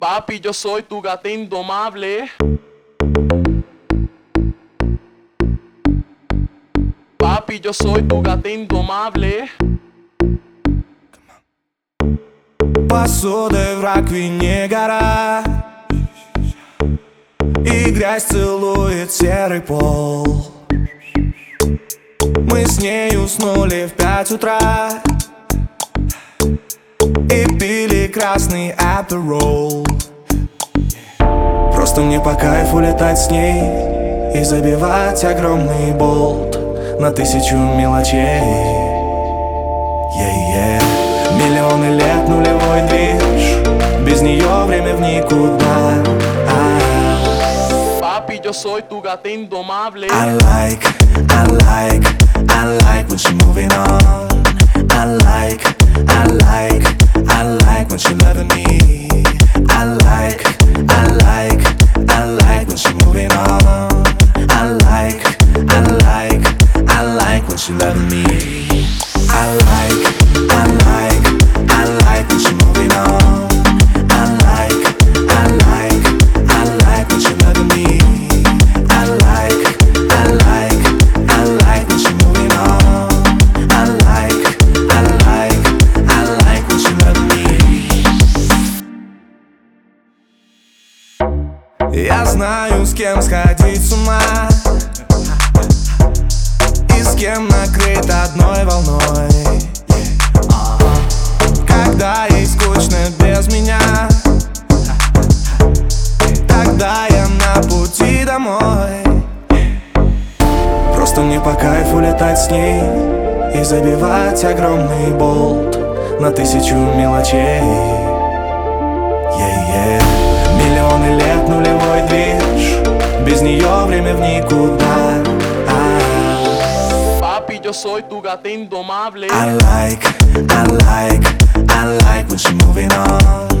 Papi, yo soy tu gata indomable. Papi, yo soy tu gata indomable. Посудой в раковине гора, и грязь целует серый пол. Мы с ней уснули в 5 утра и пили красный Aperol. Просто мне по кайфу летать с ней и забивать огромный болт на 1000 мелочей. Миллионы лет нулевой движ, без нее время в никуда. Papi, yo soy tu gata indomable. I like when she moving on. I like when she loving me. I like when she moving on. I like when she loving me. I like when she moving on. I like when she loving me. I like when she moving on. I like when she loving me. Я знаю, с кем сходить с ума и с кем накрыть одной волной. Когда ей скучно без меня, тогда я на пути домой. Просто мне по кайфу летать с ней и забивать огромный болт на 1000 мелочей. Миллионы лет нулевой движ, без нее время в никуда. Papi, yo soy tu gata indomable. I like when she moving on.